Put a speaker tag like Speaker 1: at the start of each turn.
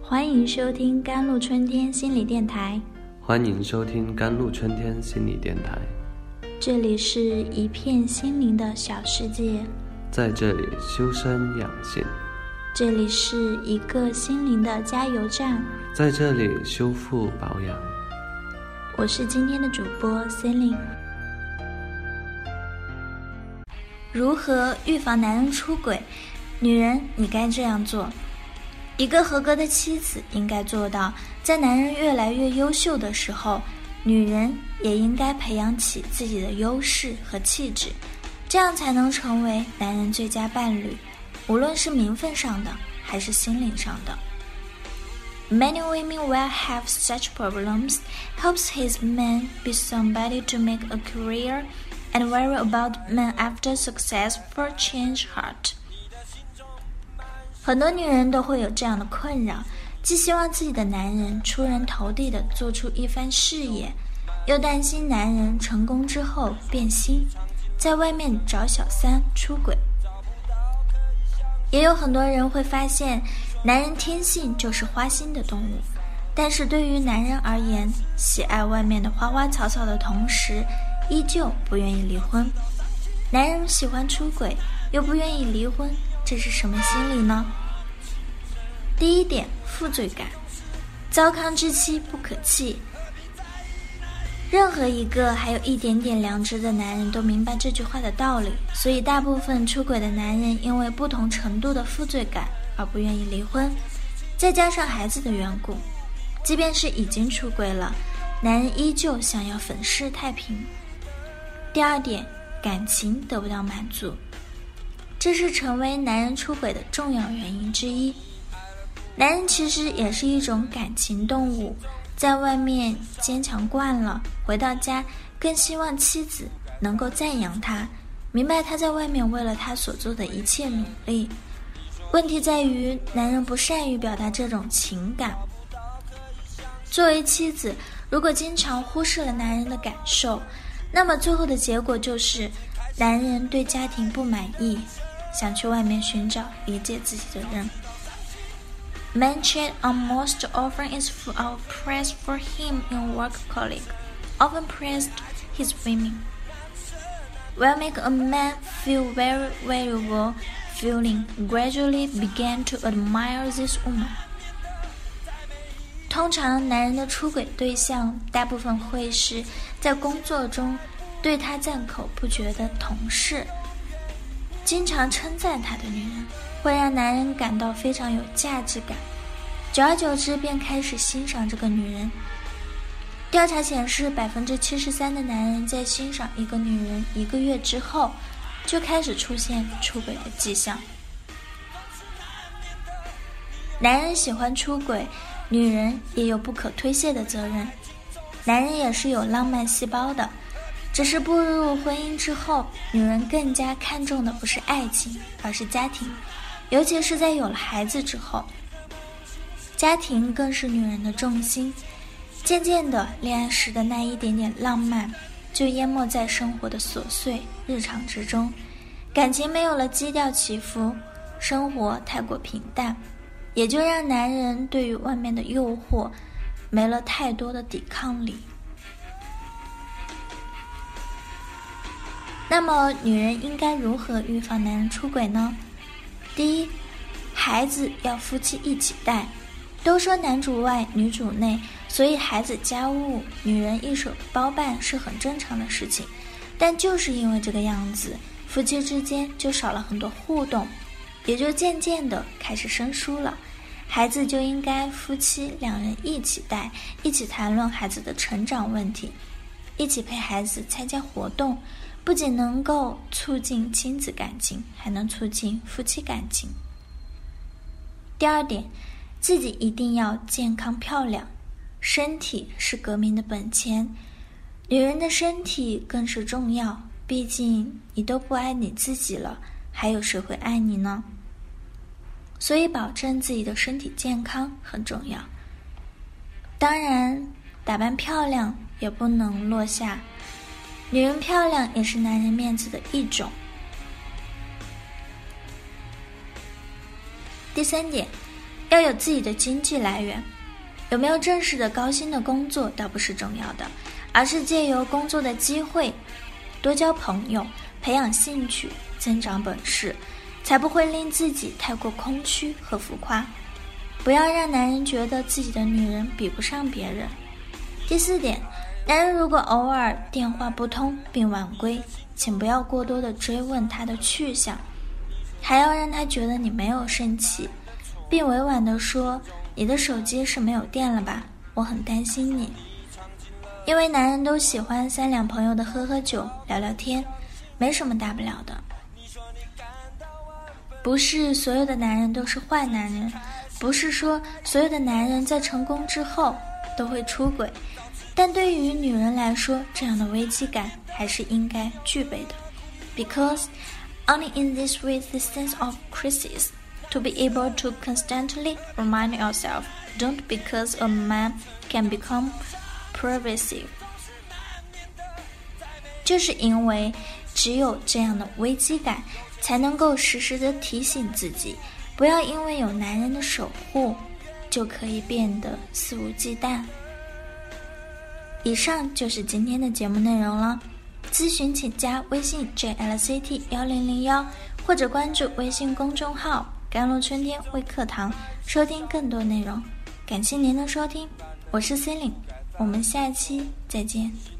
Speaker 1: 欢迎收听甘露春天心理电台。
Speaker 2: 欢迎收听甘露春天心理电台。
Speaker 1: 这里是一片心灵的小世界，
Speaker 2: 在这里修身养性。
Speaker 1: 这里是一个心灵的加油站，
Speaker 2: 在这里修复保养。
Speaker 1: 我是今天的主播 Celine。 如何预防男人出轨？女人，你该这样做。一个合格的妻子应该做到，在男人越来越优秀的时候，女人也应该培养起自己的优势和气质，这样才能成为男人最佳伴侣，无论是名分上的还是心灵上的。Many women will have such problems, helps his man be somebody to make a career, and worry about men after successful change heart. 很多女人都会有这样的困扰，既希望自己的男人出人头地地做出一番事业，又担心男人成功之后变心，在外面找小三出轨。也有很多人会发现，男人天性就是花心的动物，但是对于男人而言，喜爱外面的花花草草的同时，依旧不愿意离婚。男人喜欢出轨，又不愿意离婚，这是什么心理呢？第一点，负罪感。糟糠之妻不可弃。任何一个还有一点点良知的男人都明白这句话的道理，所以大部分出轨的男人因为不同程度的负罪感而不愿意离婚，再加上孩子的缘故，即便是已经出轨了，男人依旧想要粉饰太平。第二点，感情得不到满足，这是成为男人出轨的重要原因之一。男人其实也是一种感情动物，在外面坚强惯了，回到家更希望妻子能够赞扬他，明白他在外面为了他所做的一切努力。问题在于，男人不善于表达这种情感。作为妻子，如果经常忽视了男人的感受，那么最后的结果就是男人对家庭不满意，想去外面寻找理解自己的人。Men cheat almost often is full of praise for him in work colleague, often praised his women. Will make a man feel very valuable, feeling gradually began to admire this woman. 通常男人的出轨对象大部分会是在工作中对他赞口不绝的同事，经常称赞他的女人，会让男人感到非常有价值感，久而久之便开始欣赏这个女人。调查显示，73%的男人在欣赏一个女人1个月之后，就开始出现出轨的迹象。男人喜欢出轨，女人也有不可推卸的责任。男人也是有浪漫细胞的，只是步入婚姻之后，女人更加看重的不是爱情，而是家庭，尤其是在有了孩子之后，家庭更是女人的重心。渐渐的，恋爱时的那一点点浪漫就淹没在生活的琐碎日常之中，感情没有了基调起伏，生活太过平淡，也就让男人对于外面的诱惑没了太多的抵抗力。那么女人应该如何预防男人出轨呢？第一，孩子要夫妻一起带。都说男主外女主内，所以孩子家务女人一手包办是很正常的事情，但就是因为这个样子，夫妻之间就少了很多互动，也就渐渐的开始生疏了。孩子就应该夫妻两人一起带，一起谈论孩子的成长问题，一起陪孩子参加活动，不仅能够促进亲子感情，还能促进夫妻感情。第二点，自己一定要健康漂亮，身体是革命的本钱，女人的身体更是重要，毕竟你都不爱你自己了，还有谁会爱你呢？所以保证自己的身体健康很重要。当然，打扮漂亮也不能落下，女人漂亮也是男人面子的一种。第三点， 要有自己的经济来源。有没有正式的高薪的工作倒不是重要的，而是借由工作的机会多交朋友，培养兴趣，增长本事，才不会令自己太过空虚和浮夸。不要让男人觉得自己的女人比不上别人。第4点，男人如果偶尔电话不通并晚归，请不要过多的追问他的去向，还要让他觉得你没有生气，并委婉地说，你的手机是没有电了吧？我很担心你。因为男人都喜欢3两朋友的喝喝酒聊聊天，没什么大不了的。不是所有的男人都是坏男人，不是说所有的男人在成功之后都会出轨，但对于女人来说，这样的危机感还是应该具备的。Because only in this way the sense of crisis to be able to constantly remind yourself, don't because a man can become pervasive. 就是因为只有这样的危机感，才能够时时的提醒自己，不要因为有男人的守护，就可以变得肆无忌惮。以上就是今天的节目内容了。咨询请加微信 JLCT1001，或者关注微信公众号甘露春天微课堂，收听更多内容。感谢您的收听，我是 Celine， 我们下期再见。